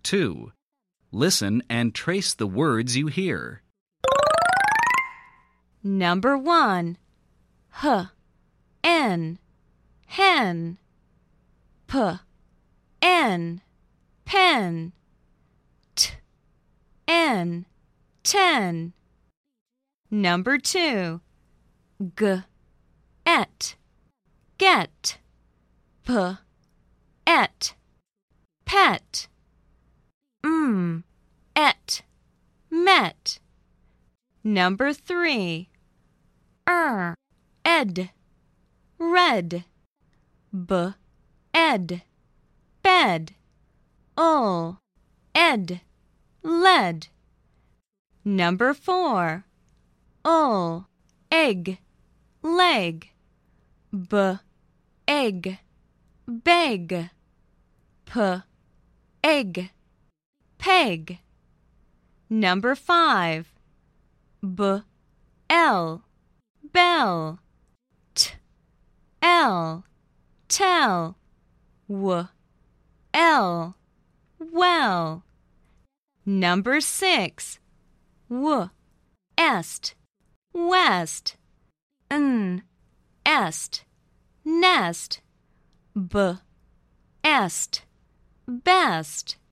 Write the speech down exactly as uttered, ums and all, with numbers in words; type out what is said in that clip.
two. Listen and trace the words you hear. Number one. H, N, hen. P, N, pen. T, N, ten. Number two. G, et, get. P, et, pet. M, et, met. Number three. Er, ed, red. B, ed, bed. Ul, ed, led. Number four. Ul, egg, leg. B, egg, beg. P, egg, peg. Number five. B, l, bell. T, l, tell. W, l, well. Number six. W, est, west. N, est, nest. B, est, best.